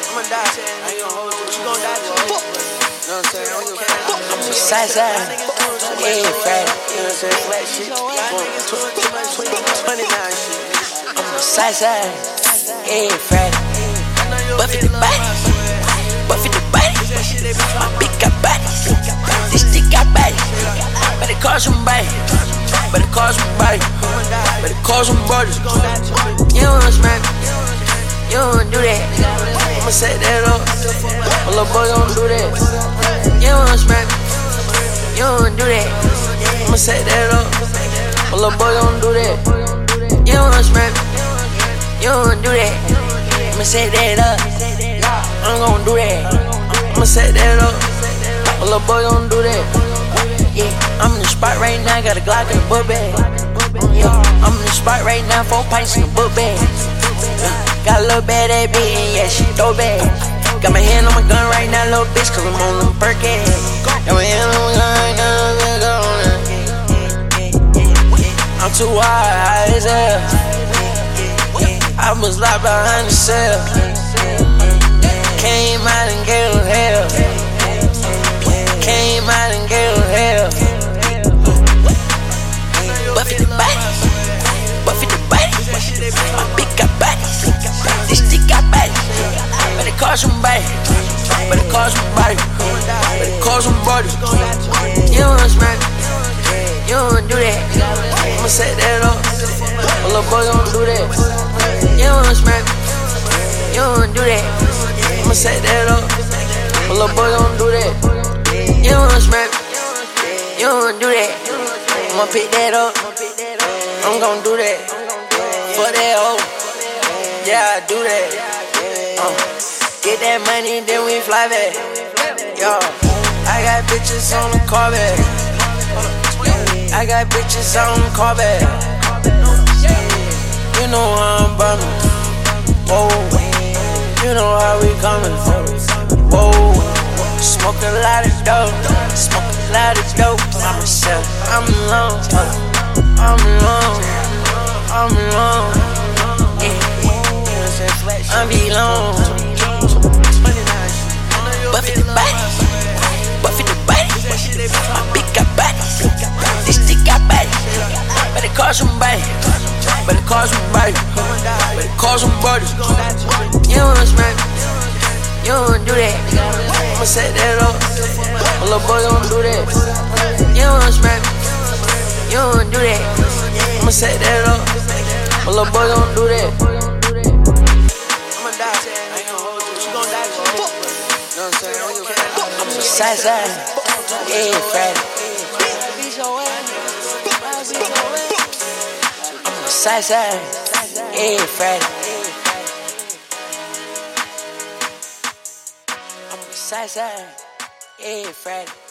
I'ma die, I ain't gon' hold you. She gon' die too. You know what I'm saying? I'm a side, yeah, Friday. You know what I'm saying? Flat shit. 29 shit. I'm a side, yeah, Friday. Buffy the body, Buffy the body. My big got body, this stick got body. Better call somebody, better call somebody, better call somebody. You don't wanna smack, you don't wanna do that. I'ma set that up, my little boy don't do that. You don't wanna smack, you don't wanna do that. I'ma set that up, my little boy don't do that. You don't wanna smack, you don't wanna do that. I'ma set that up, I'm gon' do that. I'ma set that up, my little boy gon' do that. Yeah, I'm in the spot right now, got a Glock in the book bag. Yeah, I'm in the spot right now, 4 pints in the book bag. Yeah, got a little bad ass bitch, and yeah, she throw bad. Got my hand on my gun right now, little bitch, cause I'm on them Perkins. Got my hand on my gun right now, little girl on it. I'm too high as hell. I was locked behind the cell. Came out and gave them hell. Came out and gave them hell. Buffy the body, Buffy the body. My big got body, this stick got body. Better call somebody, better call somebody, better call somebody. You don't wanna smack, you don't wanna do that. I'ma set that up, my little boy gon' do that. You don't wanna smack, you don't wanna do that. I'ma set that up, my little boy gon' do that. You don't wanna smack, you don't wanna do that. I'ma pick that up, I'm gon' do that. For that hoe, yeah, I do that. Get that money, then we fly back. Yo, I got bitches on the car back. I got bitches on the car back. You know how I'm bumming. Whoa, you know how we coming. Whoa, smoke a lot of dope, smoke a lot of dope. I'm myself, I'm alone, I'm alone, I'm alone. Yeah, I'm alone. Buffy the body, Buffy the body. My big got body, this stick got body. Better call somebody, better call somebody, better call somebody. You don't wanna smack, you don't wanna do that. I'ma set that up, my little boy gon' do that. You don't wanna smack, you don't wanna do that. I'ma set that up, my little boy gon' do that. I'ma die, I ain't gon' hold you. She gon' die too. You know what I'm saying? I'm a side, yeah, Friday. I'm a side, yeah, Friday. I'm a side, yeah, Friday.